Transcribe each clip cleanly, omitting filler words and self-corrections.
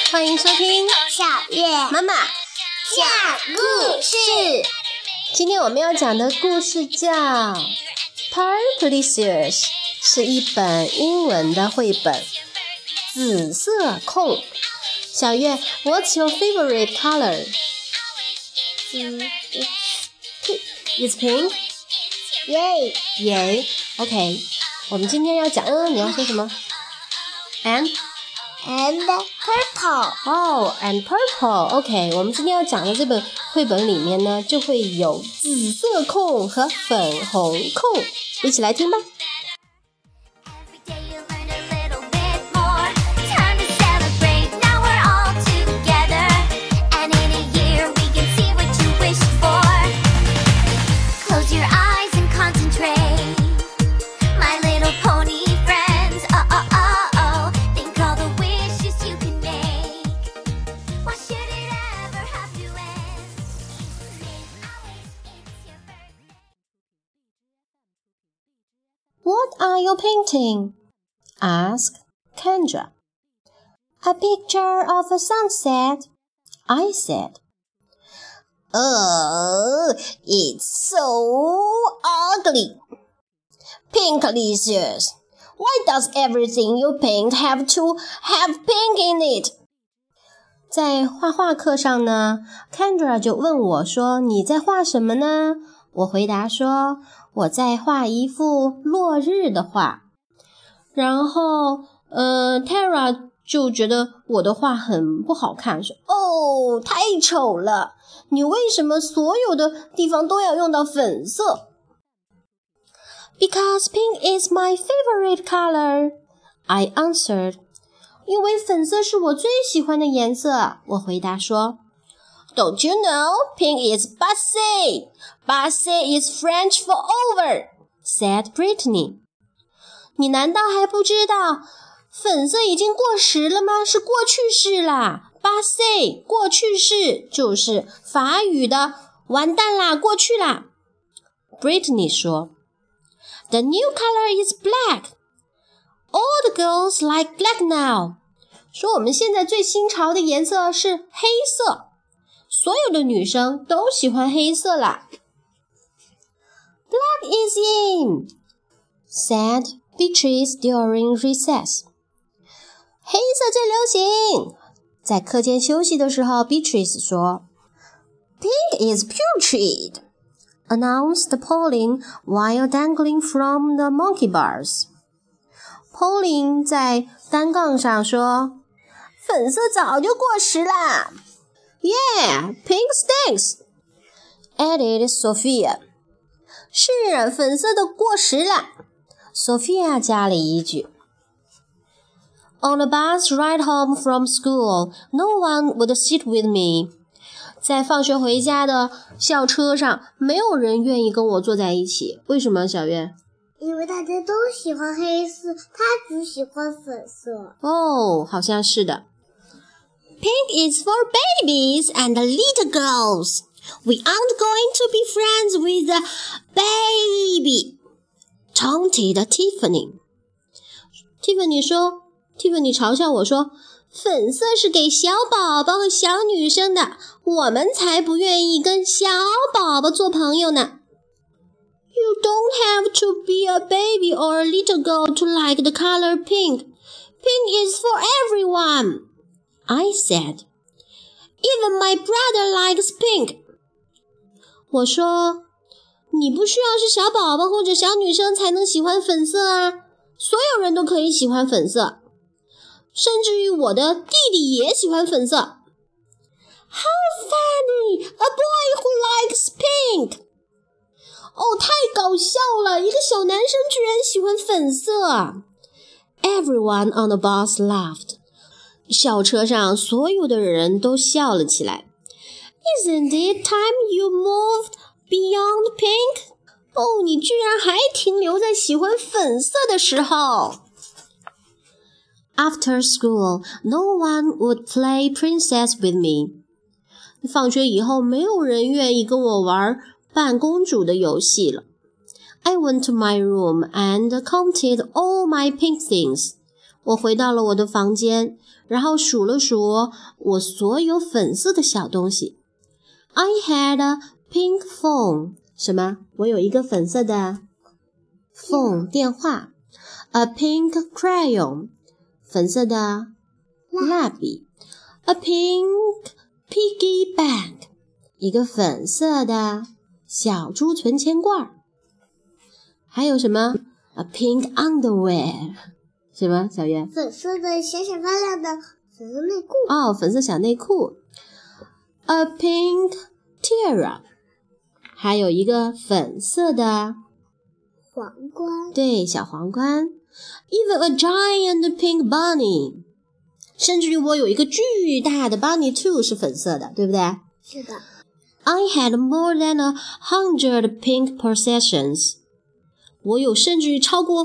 欢迎收听小月妈妈讲故事。 今天我们要讲的故事叫 Purplicious， 是一本英文的绘本，紫色控。小月 What's your favorite color? It's pink? Yay! OK， 我们今天要讲你要说什么？ And purple. And purple. OK， 我们今天要讲的这本绘本里面呢，就会有紫色控和粉红控，一起来听吧。What are you painting? Asked Kendra. A picture of a sunset, I said. Oh, it's so ugly. Pinklicious. Why does everything you paint have to have pink in it? 在画画课上呢 Kendra 就问我说，你在画什么呢？我回答说，我在画一幅落日的画。然后Tara 就觉得我的画很不好看，说哦，太丑了，你为什么所有的地方都要用到粉色？ Because pink is my favorite color, I answered. 因为粉色是我最喜欢的颜色，我回答说。Don't you know pink is passé? Passé is French for over, said Brittany. 你难道还不知道粉色已经过时了吗？是过去式啦。Passé 过去式就是法语的完蛋啦，过去啦。Brittany 说 The new color is black. All the girls like black now. 说我们现在最新潮的颜色是黑色。所有的女生都喜欢黑色啦。Black is in, said Beatrice during recess. 黑色最流行。在课间休息的时候 Beatrice 说 Pink is putrid, announced Pauline while dangling from the monkey bars. Pauline 在单杠上说，粉色早就过时啦。Yeah, pink stinks, added Sophia. 是，粉色都过时了。Sophia 加了一句。On the bus ride home from school, no one would sit with me. 在放学回家的校车上，没有人愿意跟我坐在一起。为什么，小月？ 因为大家都喜欢黑色，他只喜欢粉色。 哦，好像是的。Pink is for babies and little girls. We aren't going to be friends with a baby, taunted Tiffany. Tiffany 说 ，Tiffany 嘲笑我说，粉色是给小宝宝和小女生的，我们才不愿意跟小宝宝做朋友呢。You don't have to be a baby or a little girl to like the color pink. Pink is for everyone. I said, Even my brother likes pink. 我说，你不需要是小宝宝或者小女生才能喜欢粉色啊，所有人都可以喜欢粉色，甚至于我的弟弟也喜欢粉色。How funny! A boy who likes pink. 哦，太搞笑了，一个小男生居然喜欢粉色。Everyone on the bus laughed. 校车上所有的人都笑了起来。Isn't it time you moved beyond pink? 哦，你居然还停留在喜欢粉色的时候。After school, no one would play princess with me. 放学以后，没有人愿意跟我玩扮公主的游戏了。I went to my room and counted all my pink things. 我回到了我的房间，然后数了数我所有粉色的小东西。I had a pink phone. 什么？我有一个粉色的 phone 电话。A pink crayon. 粉色的蜡笔。A pink piggy bank. 一个粉色的小猪存钱罐。还有什么 ？A pink underwear. 什么？小月？ 粉色的闪闪发亮的粉色内裤。 哦，粉色小内裤。A pink tiara， 还有一个粉色的皇冠。 对，小皇冠。Even a giant pink bunny， 甚至于我有一个巨大的 bunny too 是粉色的，对不对？ 是的。 I had more than 100 pink possessions， 我有甚至于超过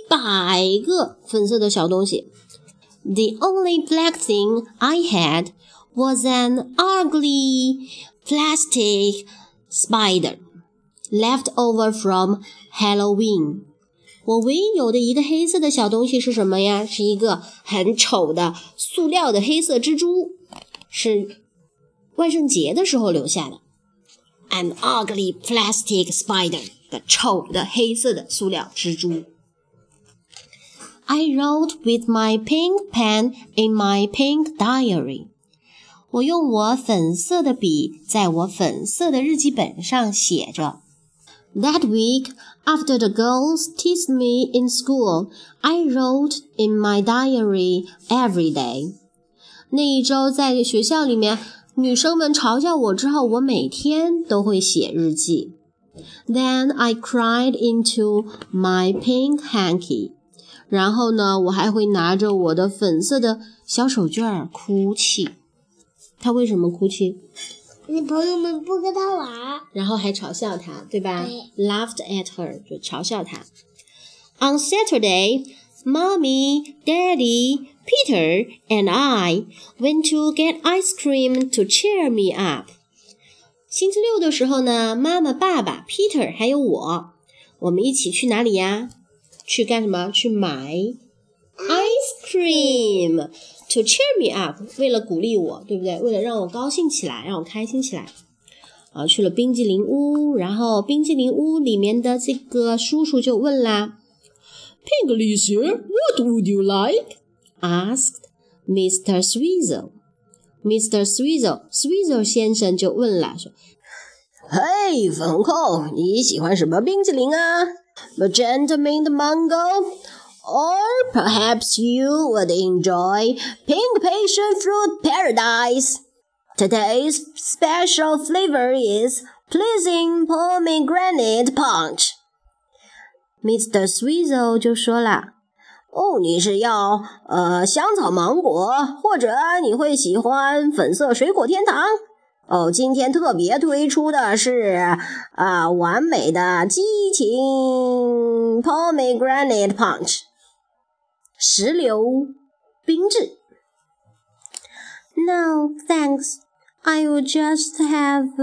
100个粉色的小东西。The only black thing I had was an ugly plastic spider left over from Halloween. 我唯一有的一个黑色的小东西是什么呀？是一个很丑的塑料的黑色蜘蛛，是万圣节的时候留下的。An ugly plastic spider， 的丑的黑色的塑料蜘蛛。I wrote with my pink pen in my pink diary. 我用我粉色的笔在我粉色的日记本上写着。That week, after the girls teased me in school, I wrote in my diary every day. 那一周在学校里面，女生们嘲笑我之后，我每天都会写日记。Then I cried into my pink hanky. 然后呢，我还会拿着我的粉色的小手绢哭泣。他为什么哭泣？ 你朋友们不跟他玩， 然后还嘲笑他，对吧？ 对。 Laughed at her， 就嘲笑他。On Saturday, Mommy, Daddy, Peter, and I went to get ice cream to cheer me up. 星期六的时候呢，妈妈、爸爸、Peter 还有我们一起去哪里呀？去干什么？去买 ice cream to cheer me up， 为了鼓励我，对不对？为了让我高兴起来，让我开心起来。去了冰激凌屋，然后冰激凌屋里面的这个叔叔就问啦 Piggy sir, what would you like? asked Mr. Sweezer. Sweezer 先生就问了，说嘿，粉红扣，你喜欢什么冰激凌啊？ Magenta mint mango? Or perhaps you would enjoy pink passion fruit paradise. Today's special flavor is pleasing pomegranate punch. Mr. Sweezer 就说了，你是要香草芒果，或者你会喜欢粉色水果天堂？今天特别推出的是完美的激情 pomegranate punch。石榴冰治。No, thanks. I will just have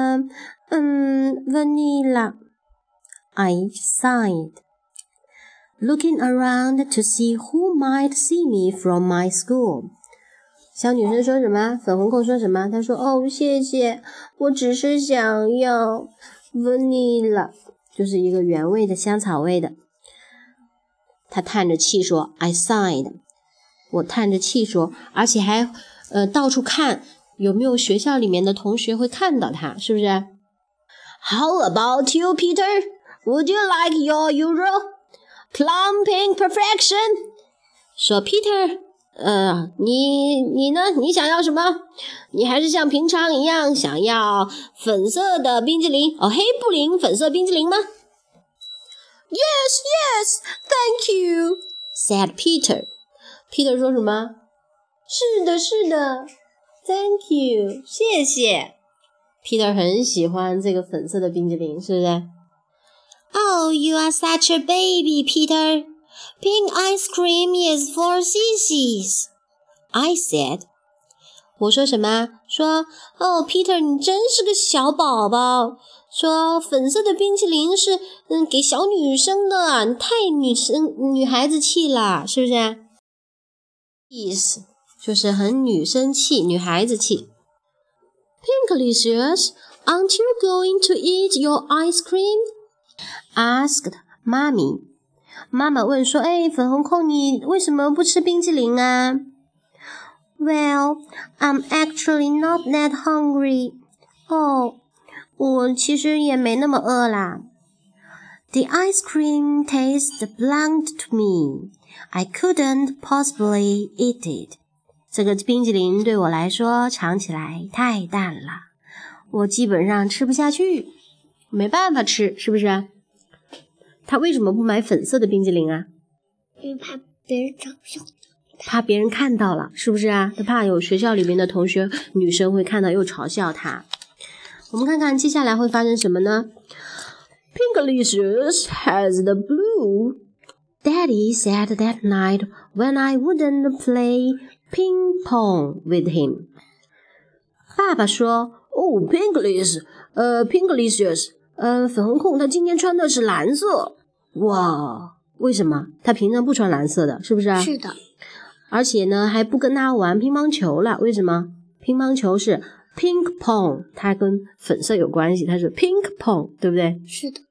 vanilla. I sighed, looking around to see who might see me from my school. 小女生说什么？粉红扣说什么？她说：“谢谢，我只是想要 vanilla， 就是一个原味的香草味的。”他叹着气说 I sighed， 我叹着气说，而且还到处看有没有学校里面的同学会看到他，是不是？ How about you, Peter? Would you like your usual plum pink perfection? 说 Peter， 你呢？你想要什么？你还是像平常一样想要粉色的冰激凌黑布林粉色冰激凌吗？Yes, thank you, said Peter. Peter 说什么？是的 ，Thank you， 谢谢。Peter 很喜欢这个粉色的冰激凌，是不是？ Oh, you are such a baby, Peter. Pink ice cream is for sissies, I said. 我说什么？说Peter 你真是个小宝宝。说粉色的冰淇淋是给小女生的，你太女孩子气了，是不是？ Is 就是很女生气，女孩子气。Pinklicious, aren't you going to eat your ice cream? Asked Mommy. 妈妈问说，粉红控你为什么不吃冰淇淋啊？ Well, I'm actually not that hungry. 我其实也没那么饿啦。The ice cream tastes bland to me. I couldn't possibly eat it. 这个冰淇淋对我来说尝起来太淡了，我基本上吃不下去，没办法吃，是不是？他为什么不买粉色的冰淇淋啊？ 因为怕别人嘲笑， 怕别人看到了，是不是啊？他怕有学校里面的同学女生会看到又嘲笑他。我们看看接下来会发生什么呢？ Pinklicious has the blue. Daddy said that night when I wouldn't play ping pong with him. 爸爸说Pinklicious, 粉红控他今天穿的是蓝色。哇，为什么？他平常不穿蓝色的，是不是啊？ 是的。 而且呢，还不跟他玩乒乓球了，为什么？乒乓球是 ping pong， 它跟粉色有关系，它是 ping pong， 对不对？ 是的。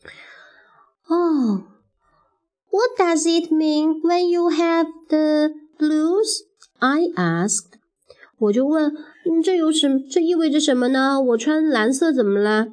What does it mean when you have the blues? I asked. 我就问，这意味着什么呢？我穿蓝色怎么了？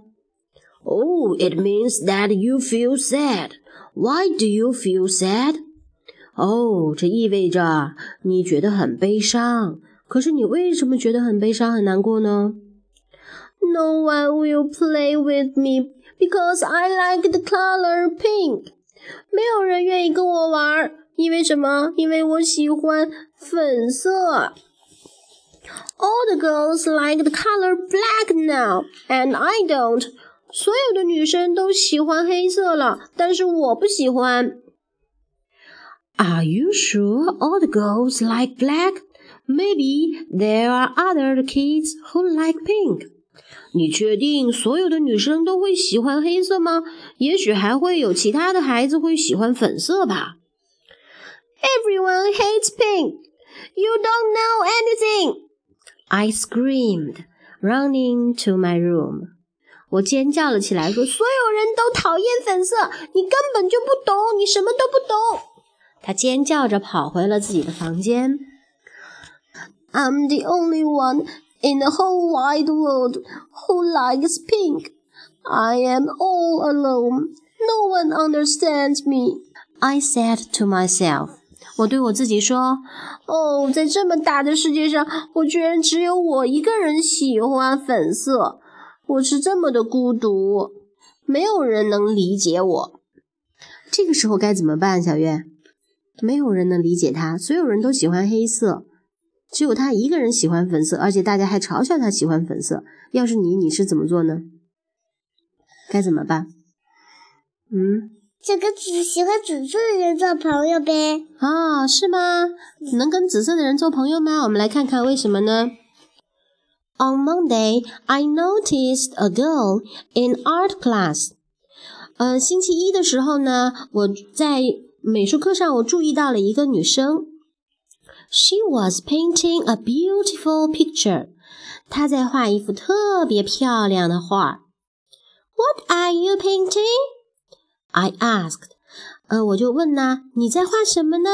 it means that you feel sad. Why do you feel sad? 这意味着你觉得很悲伤。可是你为什么觉得很悲伤很难过呢？ No one will play with me because I like the color pink. 没有人愿意跟我玩，因为什么？因为我喜欢粉色。All the girls like the color black now, and I don't. 所有的女生都喜欢黑色了，但是我不喜欢。Are you sure all the girls like black? Maybe there are other kids who like pink. 你确定所有的女生都会喜欢黑色吗？也许还会有其他的孩子会喜欢粉色吧。Everyone hates pink. You don't know anything. I screamed, running to my room. 我尖叫了起来，说所有人都讨厌粉色，你根本就不懂，你什么都不懂。他尖叫着跑回了自己的房间。I'm the only one in the whole wide world who likes pink. I am all alone. No one understands me. I said to myself. 我对我自己说，在这么大的世界上，我居然只有我一个人喜欢粉色。我是这么的孤独，没有人能理解我。这个时候该怎么办，小月？没有人能理解他，所有人都喜欢黑色，只有他一个人喜欢粉色，而且大家还嘲笑他喜欢粉色。要是你是怎么做呢？该怎么办？ 就跟喜欢紫色的人做朋友呗。 是吗？能跟紫色的人做朋友吗？我们来看看为什么呢？ On Monday, I noticed a girl in art class. 星期一的时候呢，我在美术课上我注意到了一个女生。She was painting a beautiful picture. 她在画一幅特别漂亮的画。What are you painting? I asked. 我就问呢，你在画什么呢？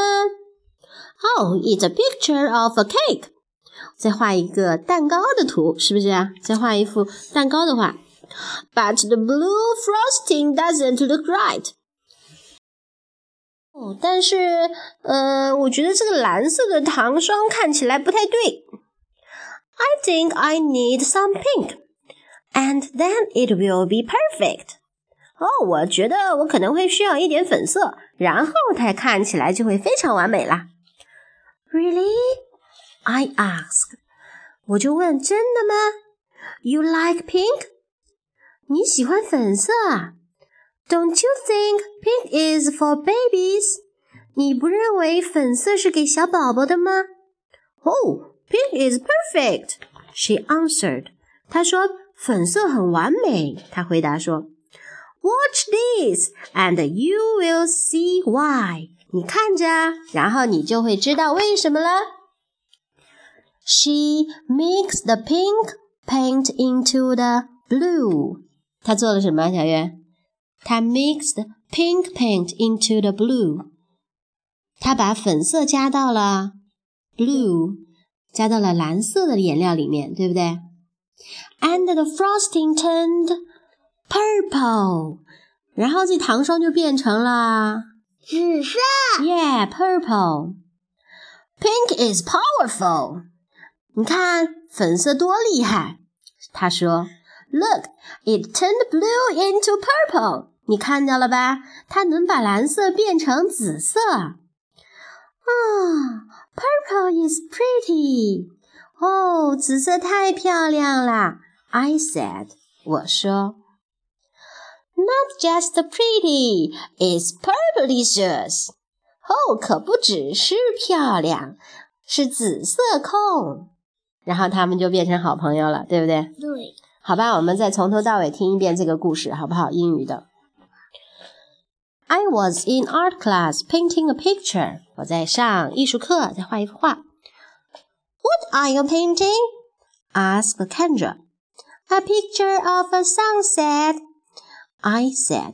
it's a picture of a cake. 在画一个蛋糕的图，是不是啊？在画一幅蛋糕的画。But the blue frosting doesn't look right. 但是我觉得这个蓝色的糖霜看起来不太对。I think I need some pink, and then it will be perfect. 我觉得我可能会需要一点粉色，然后它看起来就会非常完美啦。Really? I asked. 我就问，真的吗？ You like pink? 你喜欢粉色啊？ Don't you think pink is for babies? 你不认为粉色是给小宝宝的吗？ Pink is perfect, she answered. 她说粉色很完美，她回答说。Watch this, and you will see why. 你看着，然后你就会知道为什么了。She mixed the pink paint into the blue. 她做了什么，小月？她 mixed pink paint into the blue. 她把粉色加到了 blue， 加到了蓝色的颜料里面，对不对？ And the frosting turned purple. 然后这糖霜就变成了紫色。 Yeah, purple. Pink is powerful. 你看粉色多厉害。他说 Look, it turned blue into purple. 你看到了吧？它能把蓝色变成紫色。Purple is pretty. 哦，紫色太漂亮了。I said, 我说。Not just pretty, it's purplicious. 哦，可不只是漂亮，是紫色控。然后他们就变成好朋友了，对不对？ 对。 好吧，我们再从头到尾听一遍这个故事，好不好？英语的。I was in art class painting a picture. 我在上艺术课，在画一幅画。What are you painting? asked Kendra. A picture of a sunset. I said,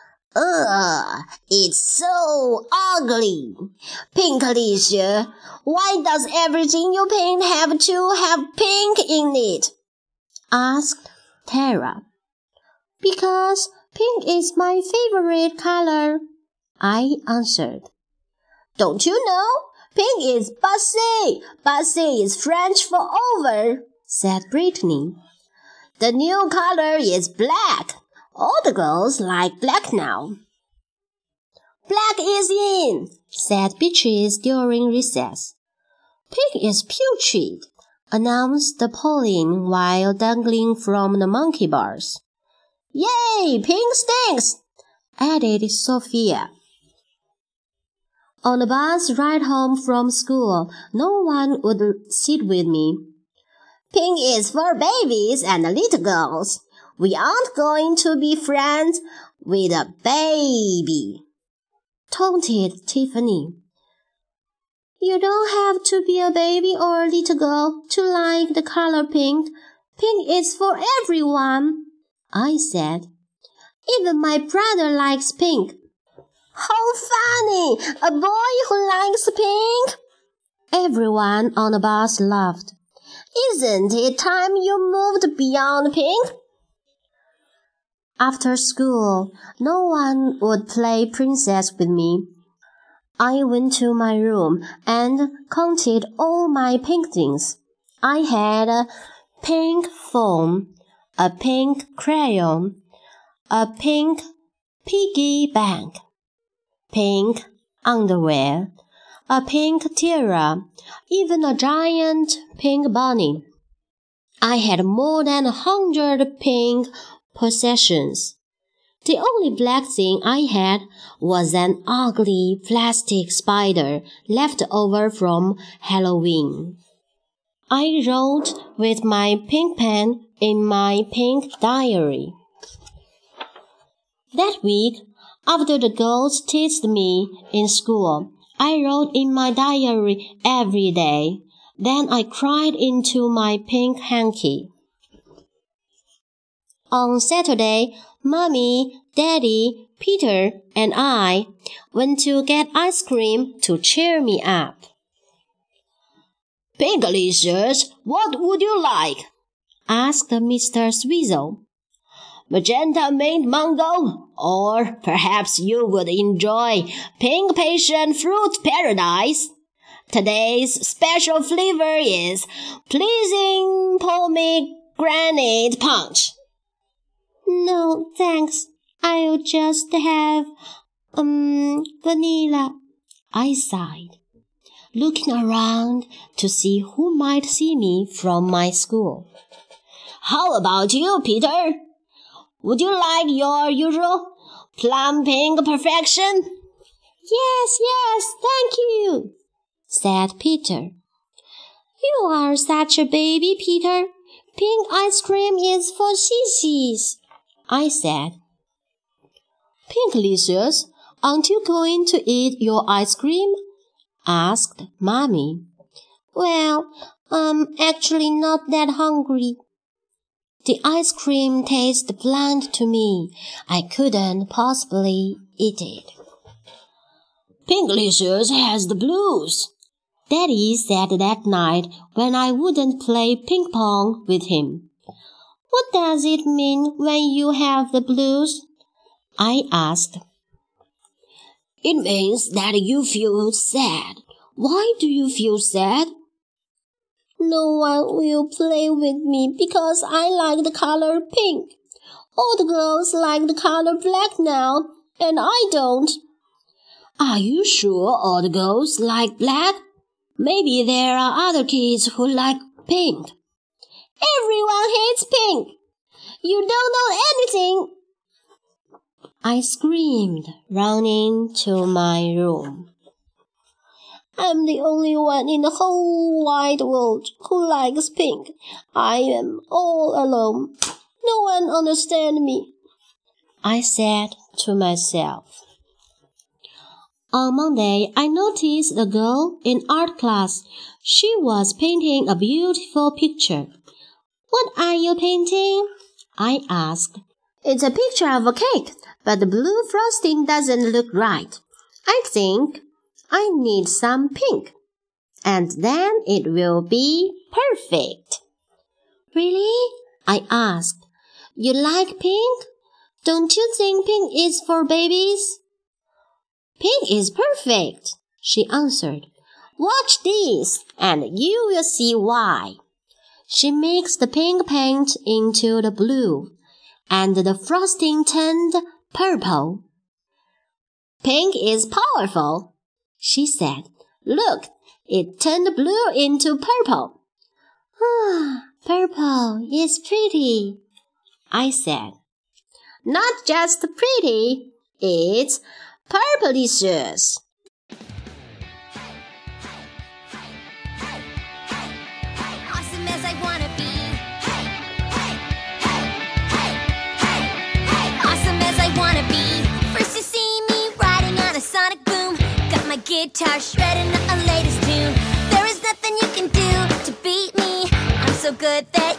it's so ugly. Pinkalicious, why does everything you paint have to have pink in it? Asked Tara. Because pink is my favorite color, I answered. Don't you know? Pink is passé. Passé is French for over, said Brittany. The new color is black. All the girls like black now. Black is in, said Beatrice during recess. Pink is putrid, announced Pauline while dangling from the monkey bars. Yay, pink stinks, added Sophia. On the bus ride home from school, no one would sit with me. Pink is for babies and little girls. We aren't going to be friends with a baby, taunted Tiffany. You don't have to be a baby or a little girl to like the color pink. Pink is for everyone, I said. Even my brother likes pink. How funny! A boy who likes pink? Everyone on the bus laughed. Isn't it time you moved beyond pink? After school, no one would play princess with me. I went to my room and counted all my pink things. I had a pink phone, a pink crayon, a pink piggy bank, pink underwear, a pink tiara, even a giant pink bunny. I had more than 100 pink possessions. The only black thing I had was an ugly plastic spider left over from Halloween. I wrote with my pink pen in my pink diary. That week, after the girls teased me in school, I wrote in my diary every day. Then I cried into my pink hanky. On Saturday, Mommy, Daddy, Peter, and I went to get ice cream to cheer me up. Pinkalicious, what would you like? asked Mr. Sweezel. Magenta mint mango, or perhaps you would enjoy pink passion fruit paradise. Today's special flavor is pleasing pomegranate punch. No, thanks. I'll just have, vanilla. I sighed, looking around to see who might see me from my school. How about you, Peter? Would you like your usual plum pink perfection? Yes, thank you, said Peter. You are such a baby, Peter. Pink ice cream is for sissies, I said. Pinkalicious, Aren't you going to eat your ice cream? Asked Mommy. Well, I'm actually not that hungry. The ice cream tasted bland to me. I couldn't possibly eat it. Pinklicious has the blues, Daddy said that night when I wouldn't play ping-pong with him. What does it mean when you have the blues? I asked. It means that you feel sad. Why do you feel sad? No one will play with me because I like the color pink. All the girls like the color black now, and I don't. Are you sure all the girls like black? Maybe there are other kids who like pink. Everyone hates pink. You don't know anything. I screamed, running to my room. I'm the only one in the whole wide world who likes pink. I am all alone. No one understands me, I said to myself. On Monday, I noticed a girl in art class. She was painting a beautiful picture. What are you painting? I asked. It's a picture of a cake, but the blue frosting doesn't look right. I think I need some pink, and then it will be perfect. Really? I asked. You like pink? Don't you think pink is for babies? Pink is perfect, she answered. Watch this, and you will see why. She mixed the pink paint into the blue, and the frosting turned purple. Pink is powerful, she said. Look, it turned blue into purple. Purple is pretty, I said. Not just pretty, it's purplicious. Awesome as I wanna be. Awesome as I wanna be. First you see me riding on a sonic boom. Got my guitar shredding a latest tune. There is nothing you can do to beat me. I'm so good that